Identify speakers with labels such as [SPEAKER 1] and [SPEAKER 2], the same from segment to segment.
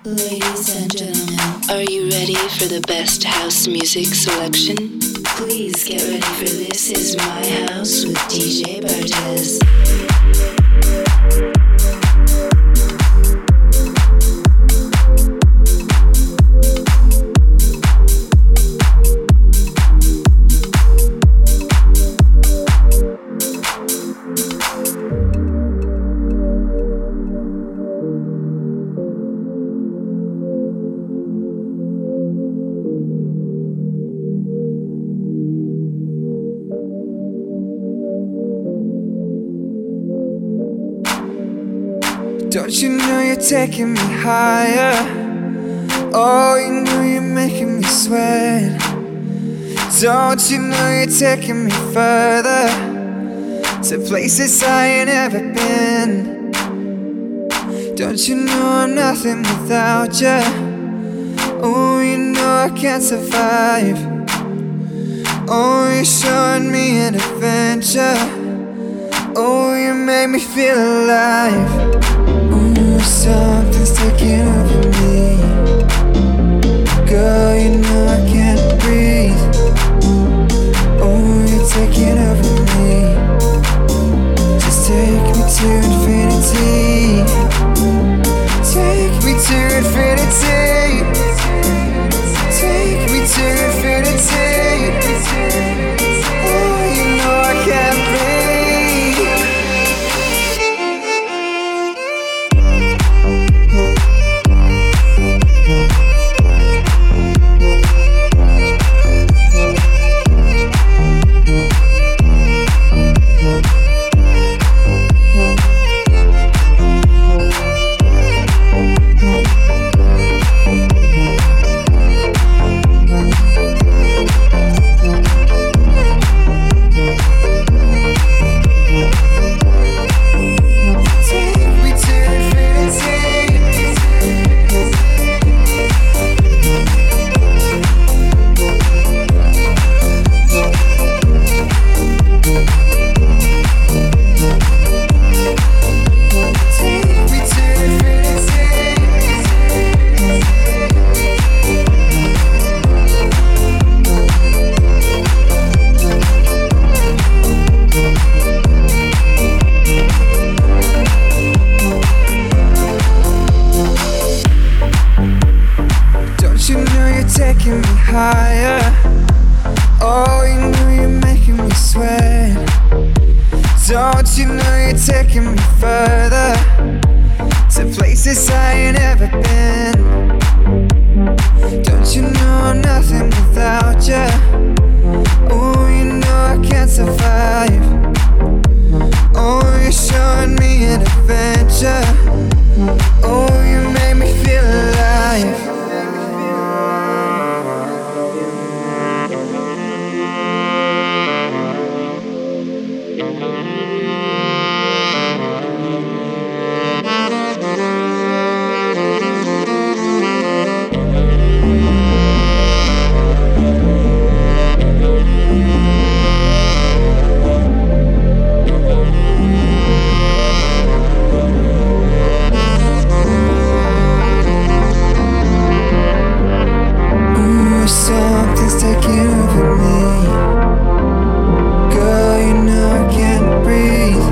[SPEAKER 1] Ladies and gentlemen, are you ready for the best house music selection? Please get ready for This Is My House with DJ Bartez.
[SPEAKER 2] Don't you know you're taking me higher? Oh, you know you're making me sweat. Don't you know you're taking me further, to places I ain't ever been. Don't you know I'm nothing without you? Oh, you know I can't survive. Oh, you're showing me an adventure. Oh, you make me feel alive. Something's taking over me. Girl, you know I can't breathe. Oh, you're taking over me. Just take me to infinity. Take me to infinity. Take me to infinity. Oh, you know I can't breathe. Taking me higher. Oh, you know you're making me sweat. Don't you know you're taking me further, to places I ain't ever been. Don't you know I'm nothing without you? Oh, you know I can't survive. Oh, you're showing me an adventure. Oh, you make me feel alive. Something's taking over me. Girl, you know I can't breathe.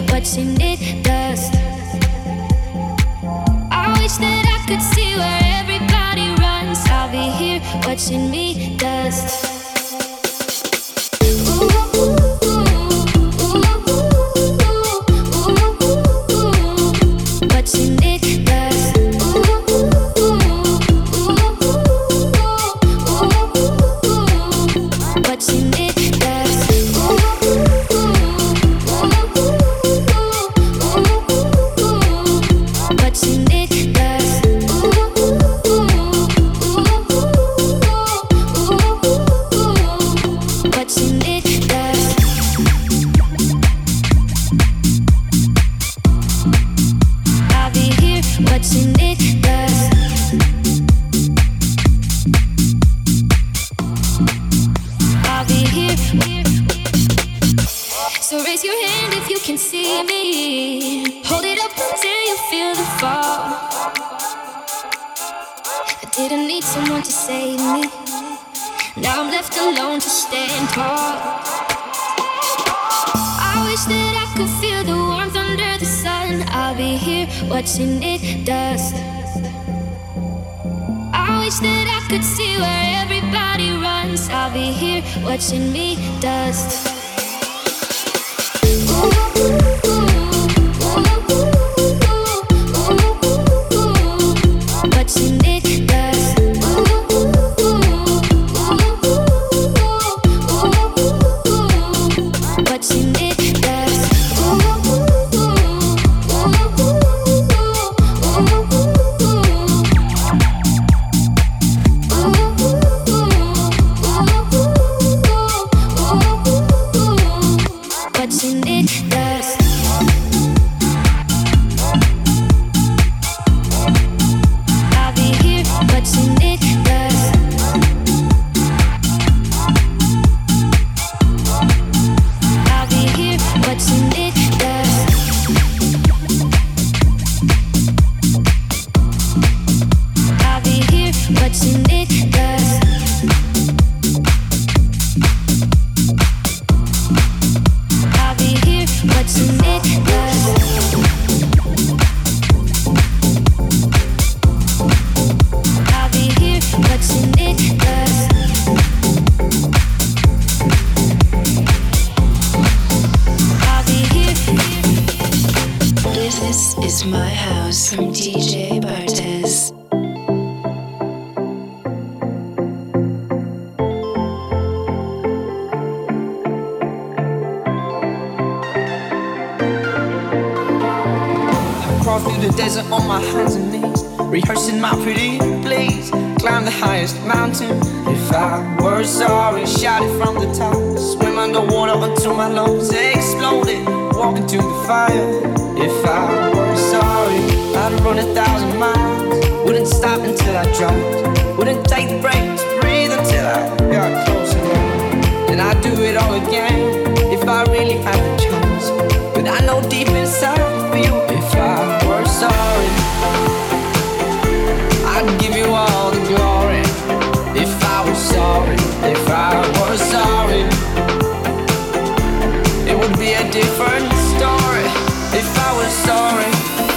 [SPEAKER 1] watching it dust. I wish that I could see where everybody runs. I'll be here watching me dust. Watching it dust. I wish that I could see where everybody runs. I'll be here watching me dust. Watching it dust. Watching it dust.
[SPEAKER 2] On my hands and knees, rehearsing my pretty please. Climb the highest mountain. If I were sorry, shout it from the top. Swim underwater until my lungs exploded. Walk into the fire. If I were sorry, I'd run 1,000 miles. Wouldn't stop until I dropped. Wouldn't take the breaks, breathe until I got closer. And I'd do it all again if I really had the chance. But I know deep inside for you, if I were sorry, I'd give you all the glory. If I was sorry, if I was sorry, it would be a different story. If I was sorry.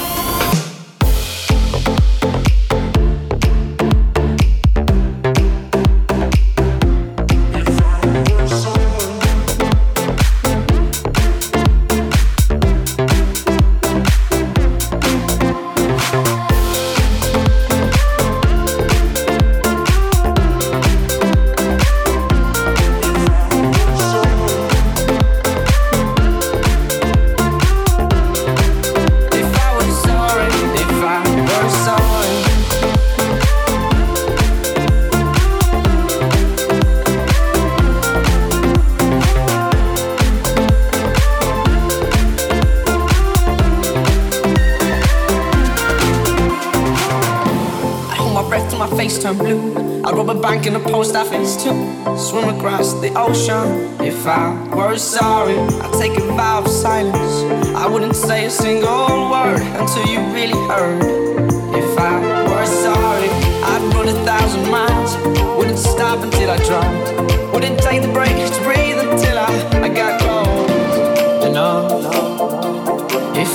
[SPEAKER 2] Turn blue. I'd rob a bank in a post office too. Swim across the ocean. If I were sorry, I'd take a vow of silence. I wouldn't say a single word until you really heard. If I were sorry, I'd run 1,000 miles. Wouldn't stop until I dropped. Wouldn't take the break to breathe until I got close. And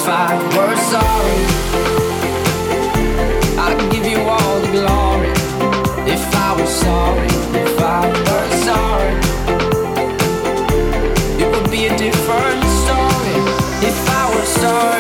[SPEAKER 3] If I were sorry, I'd give you all the glory. If I was sorry, if I were sorry, it would be a different story. If I were sorry.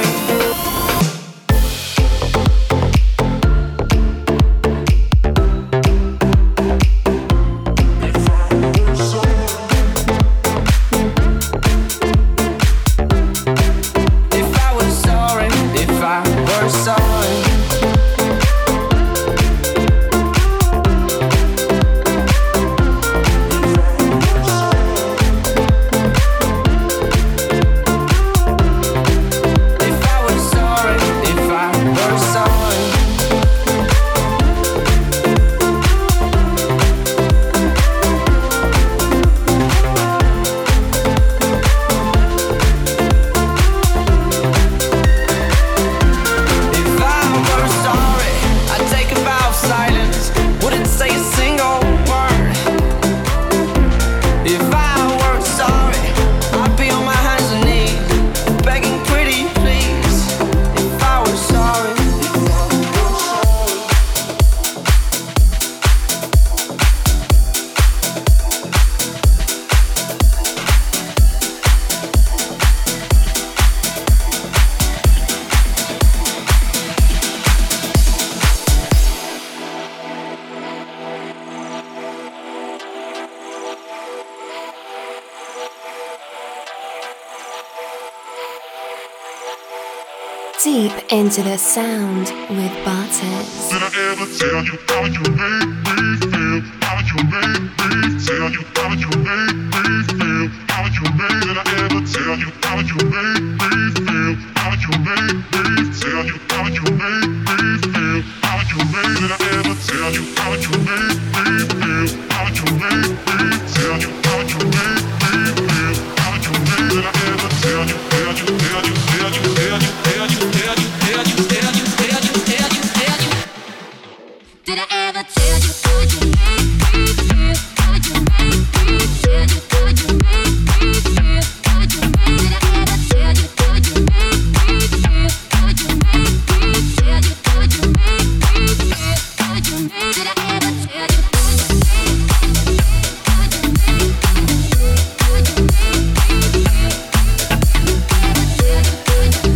[SPEAKER 1] Deep into the sound with Bartez.
[SPEAKER 4] Did I ever tell you how you make me feel? How you make me tell you how you make me feel? How you make? Did I ever tell you how you make me feel? How you make me tell you how you make me feel? How you make? Did I ever tell you how you make me feel? How you make me tell you how you make me feel? How you make? Did I ever tell you? Tell you? Tell you? Tell you? Tell you? Tell you?
[SPEAKER 5] Did I ever tell you how you make me feel? How you make me tell you how you make me feel? How you make? Did I ever tell you how you make me feel? How you make me tell you how you make me feel? How you make? Did I ever tell you how you make me feel? How you make me feel? How you make me feel? Did I ever tell you how you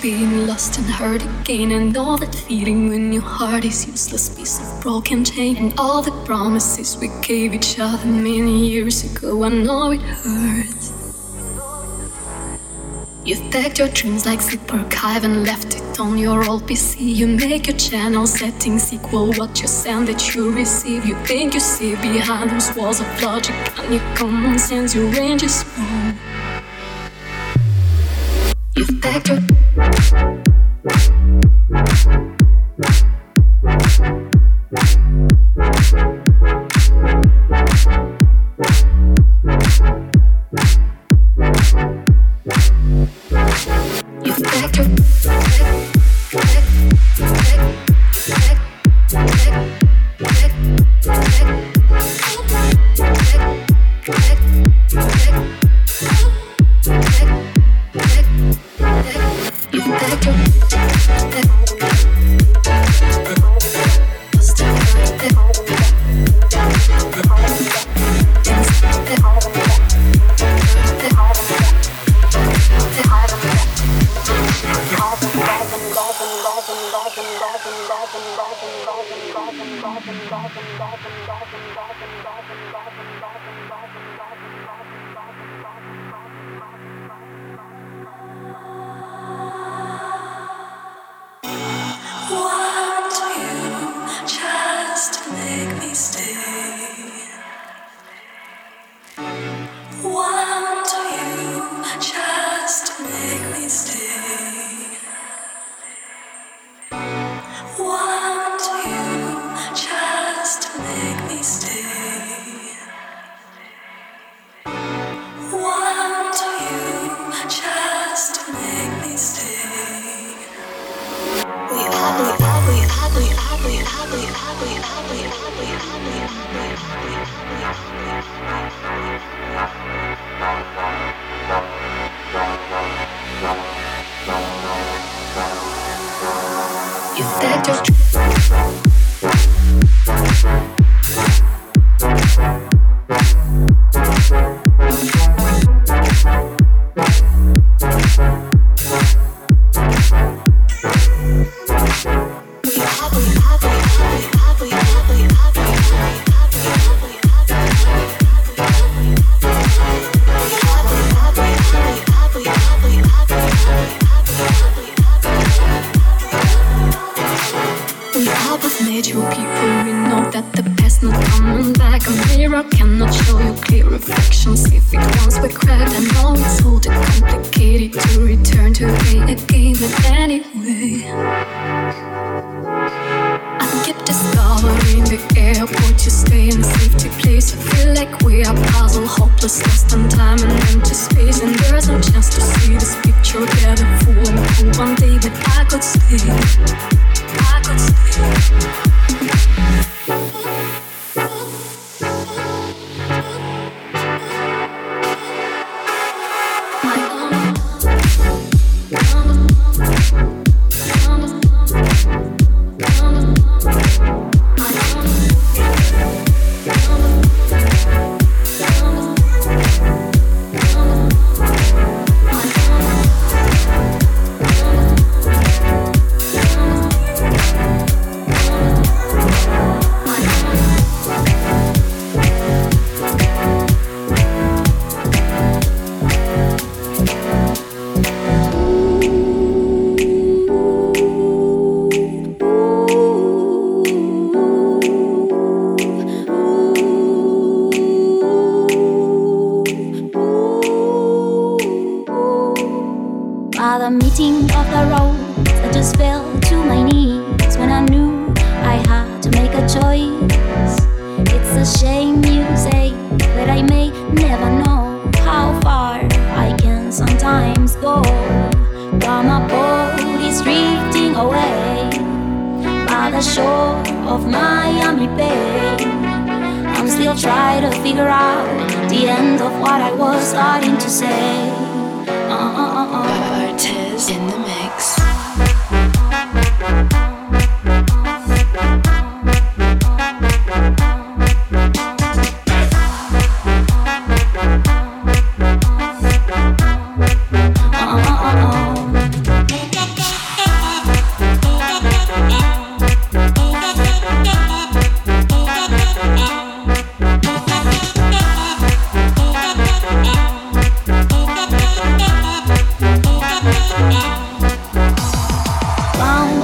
[SPEAKER 6] being lost and hurt again, and all that feeling when your heart is useless piece of broken chain, and all the promises we gave each other many years ago. I know it hurts. You've packed your dreams like zip archive and left it on your old PC. You make your channel settings equal what you send that you receive. You think you see behind those walls of logic, and your common sense, your range is small. You've packed your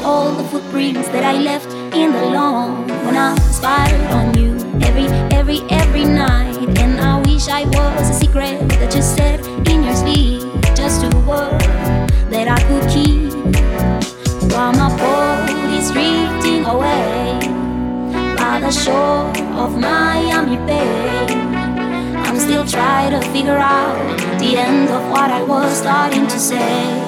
[SPEAKER 5] all the footprints that I left in the lawn when I spied on you every night. And I wish I was a secret that you said in your sleep, just a word that I could keep. While my boat is drifting away by the shore of Miami Bay, I'm still trying to figure out the end of what I was starting to say.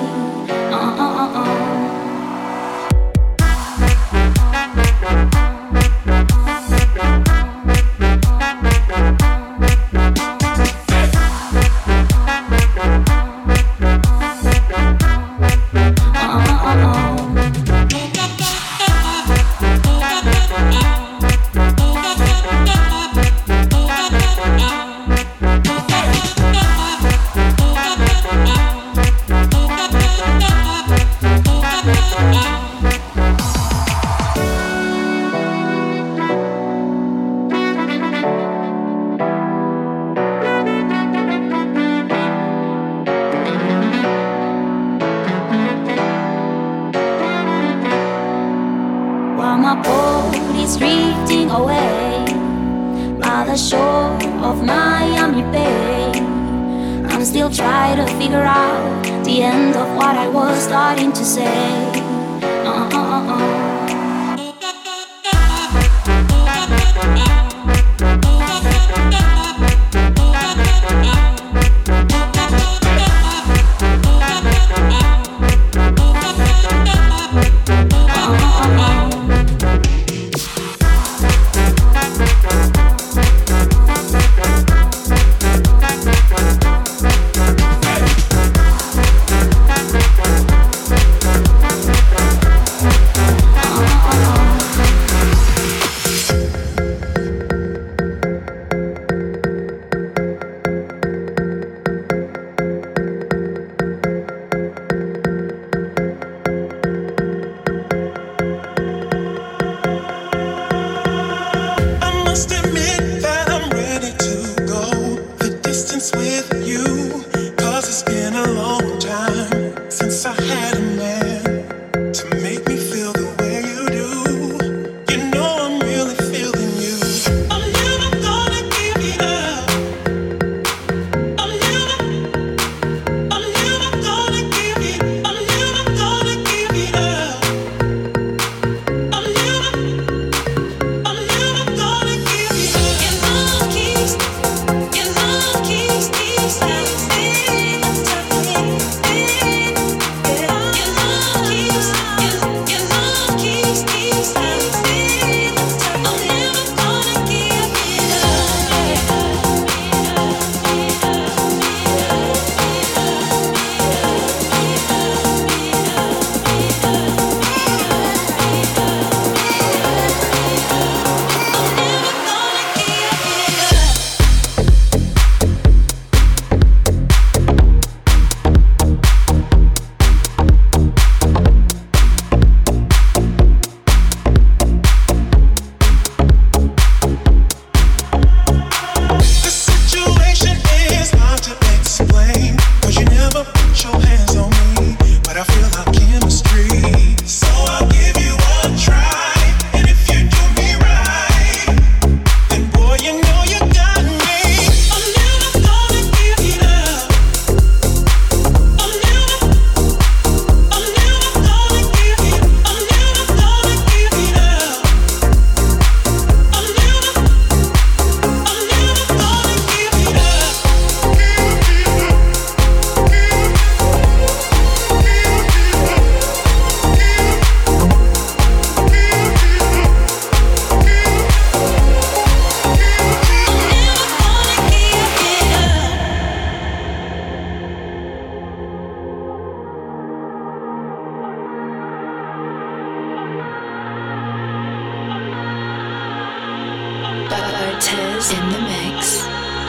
[SPEAKER 1] Bartez in the mix.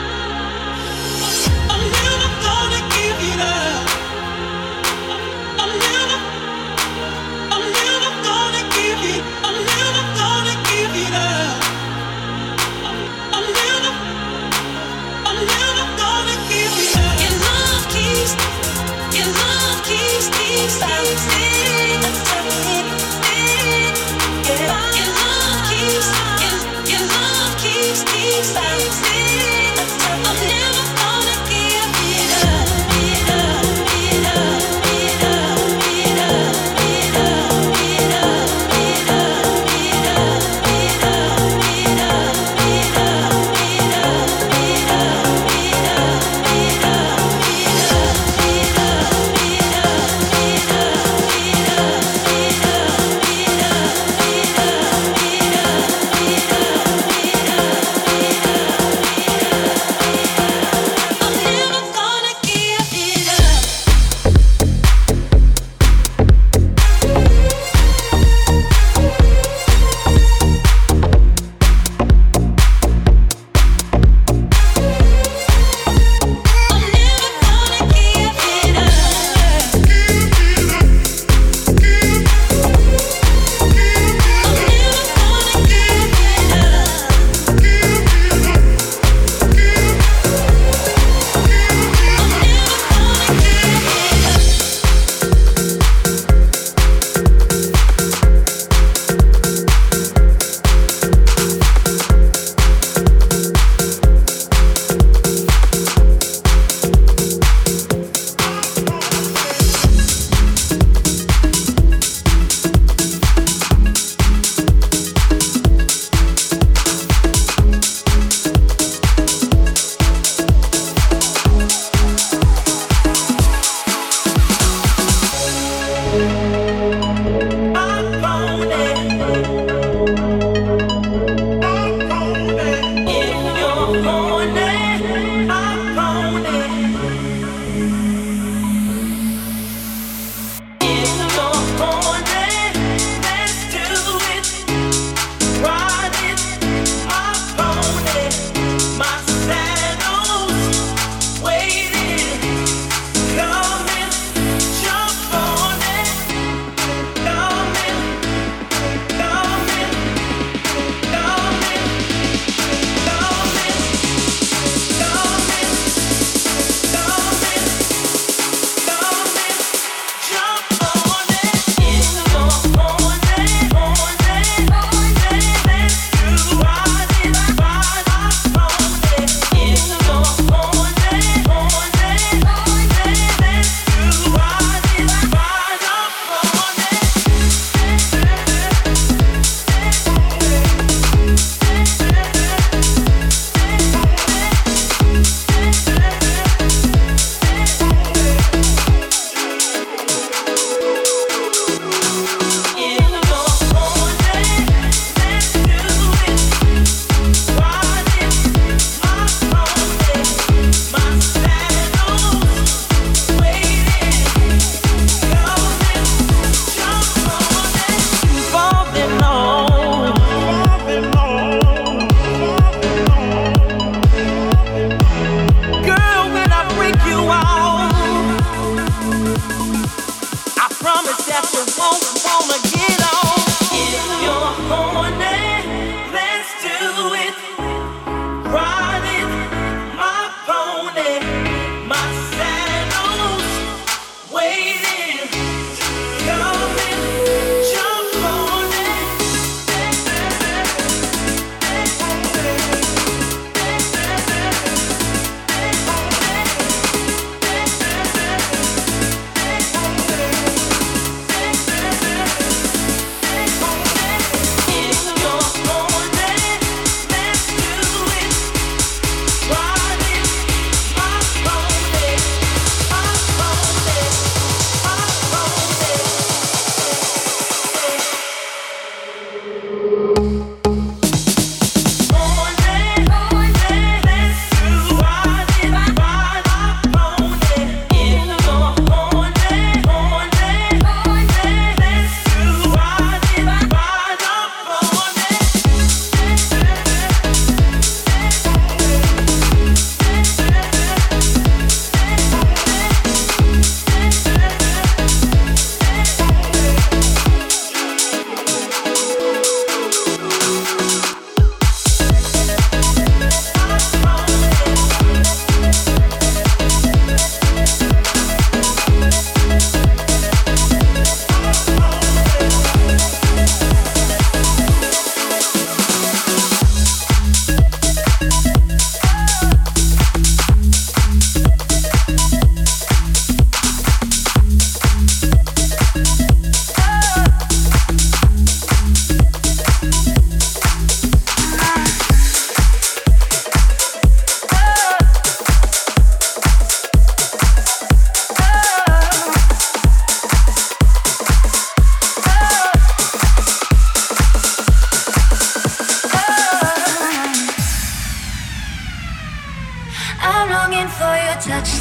[SPEAKER 7] I'm never gonna give it up. I'm never gonna give it. I'm never gonna give it up. I'm never gonna give it up. Your love keeps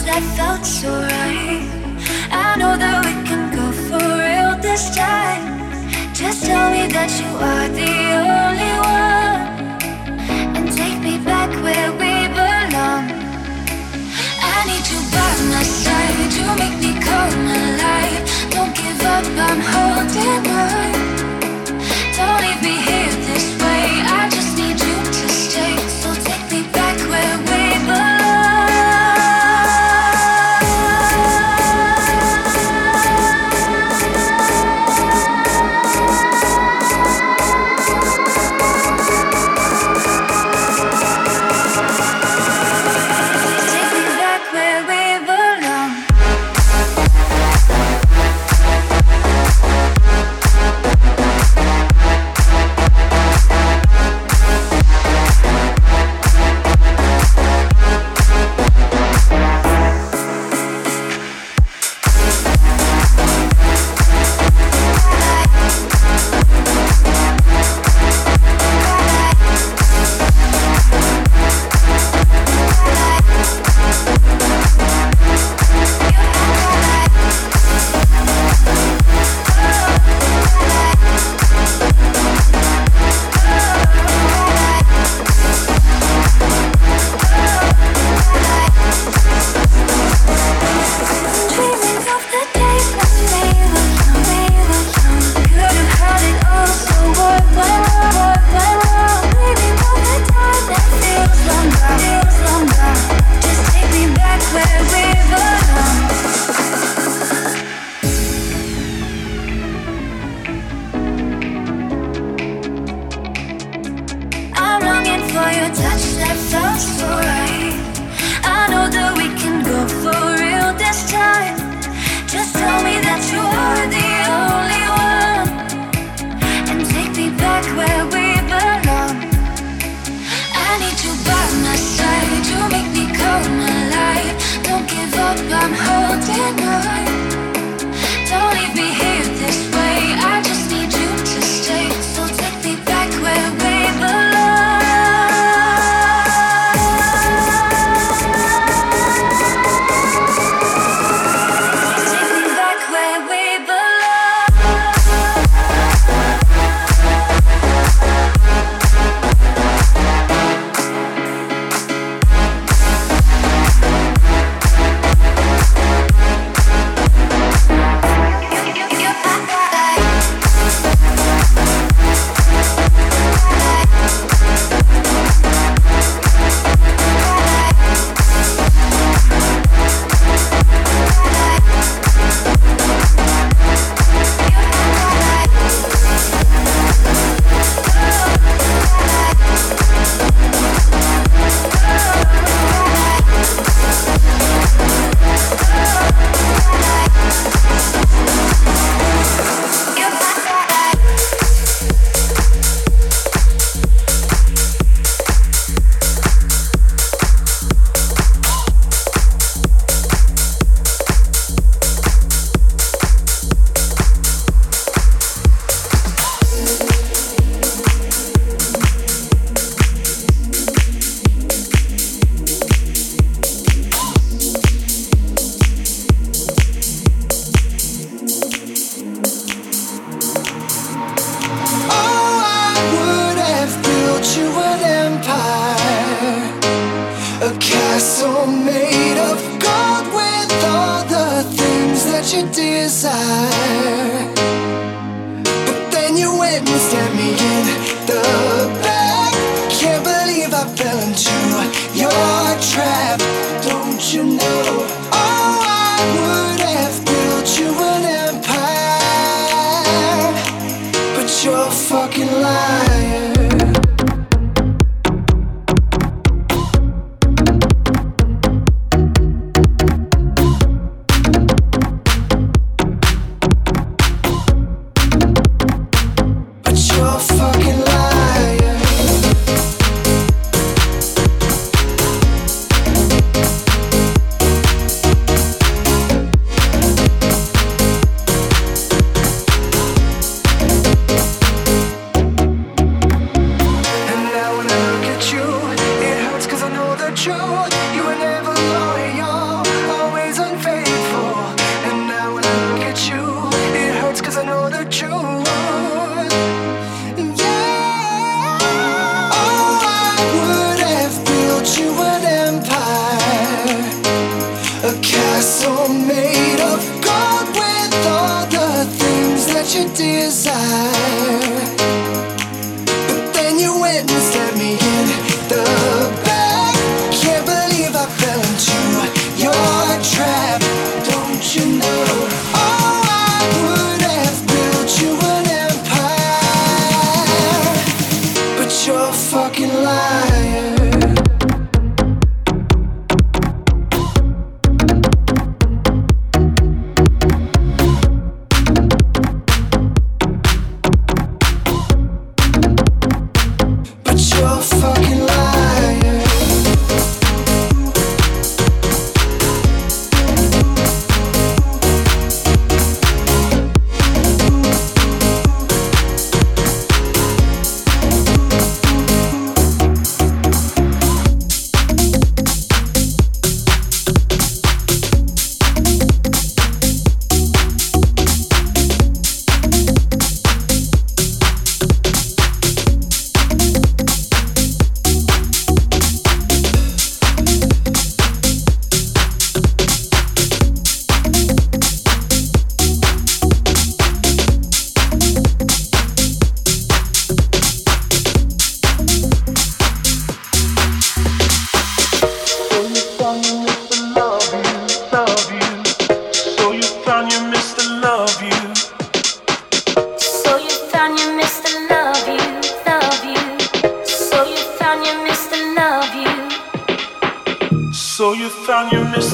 [SPEAKER 5] that felt so right. I know that we can go for real this time. Just tell me that you are the only one, and take me back where we belong. I need you by my side, you make me come alive. Don't give up, I'm holding on. Don't leave me here this way, I just need you to stay. So take me back where we belong. I'm holding on. Don't leave me here this way, I just need you to stay. So take me back where we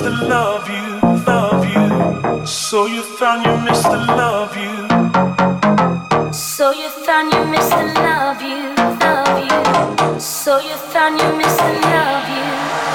[SPEAKER 8] Mr. Love You, love you. So you found your Mr. Love You.
[SPEAKER 5] So you found your Mr. Love You, love you. So you found your Mr. Love You.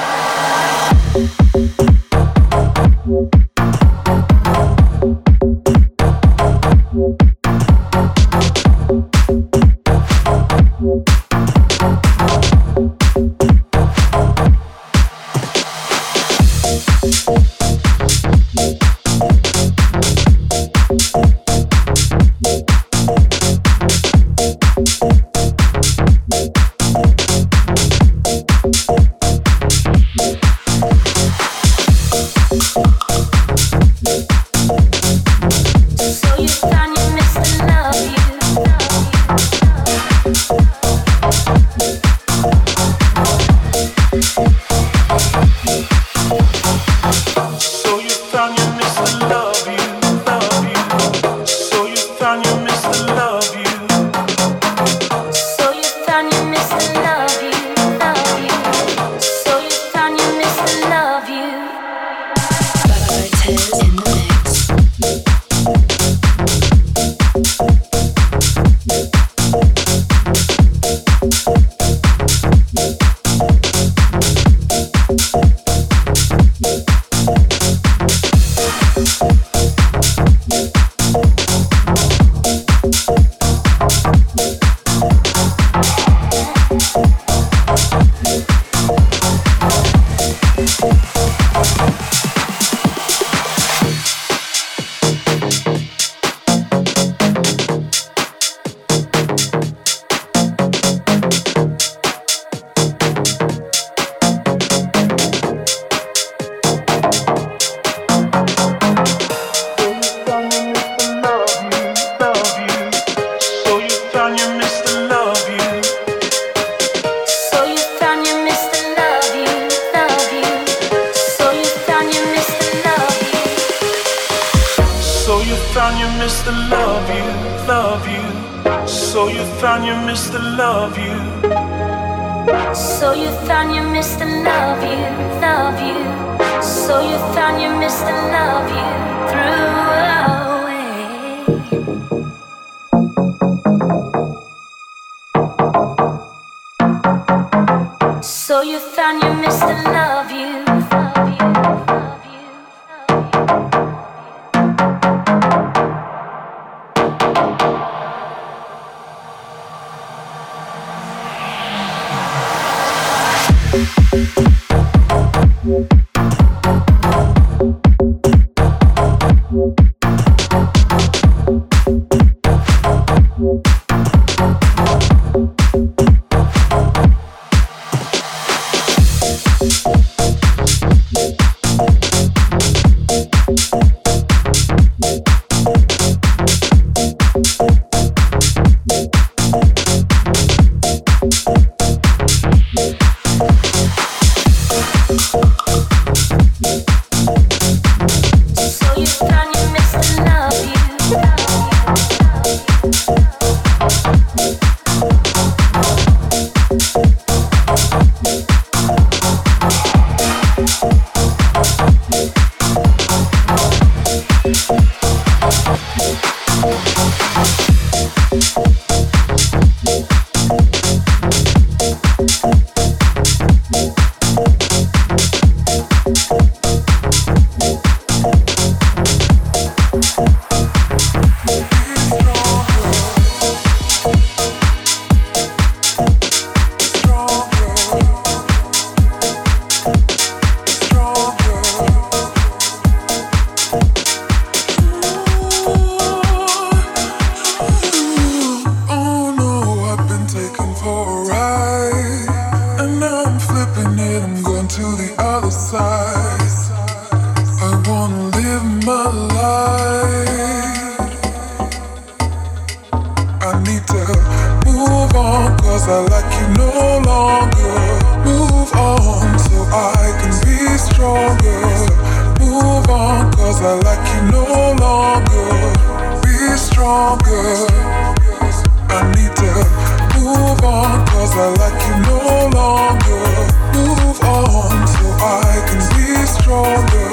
[SPEAKER 4] I like you no longer. Move on so I can be stronger.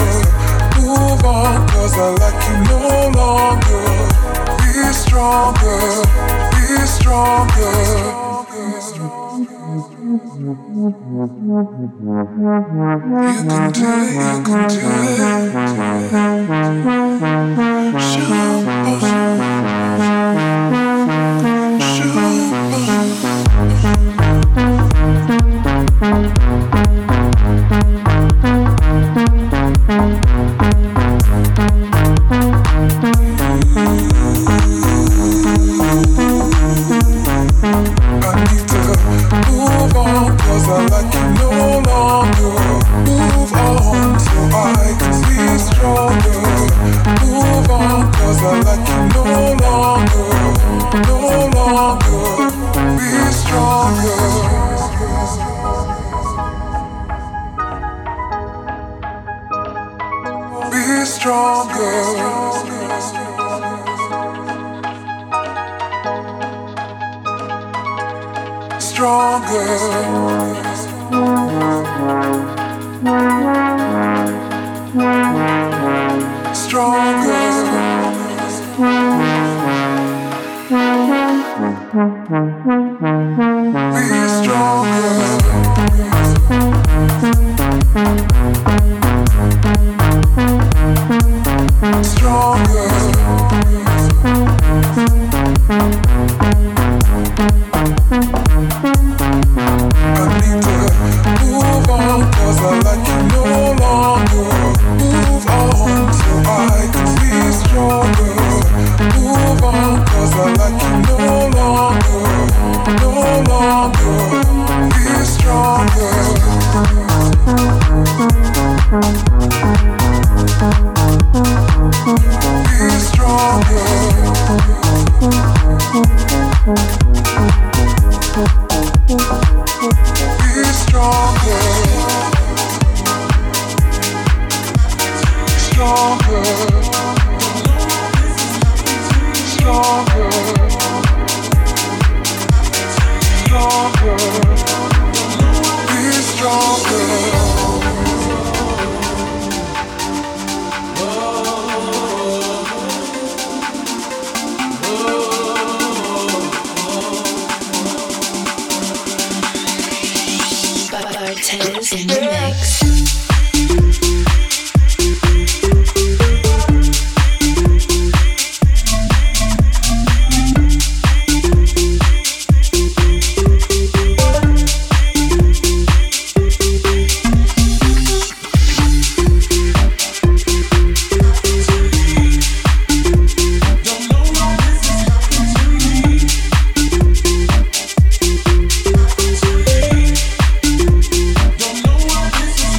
[SPEAKER 1] Bartez in the mix.
[SPEAKER 7] Don't know what this is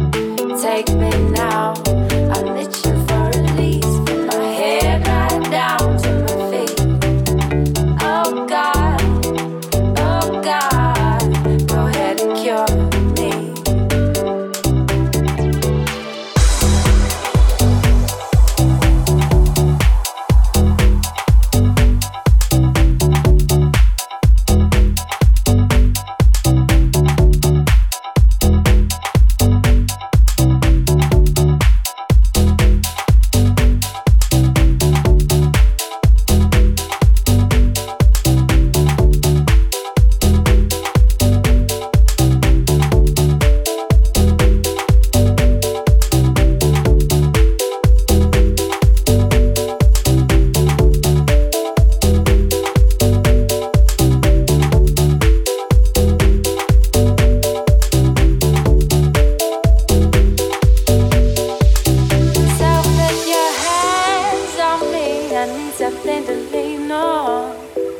[SPEAKER 9] on.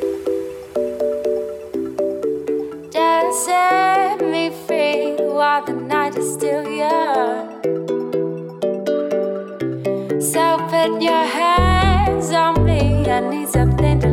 [SPEAKER 9] Just set me free while the night is still young. So put your hands on me, I need something to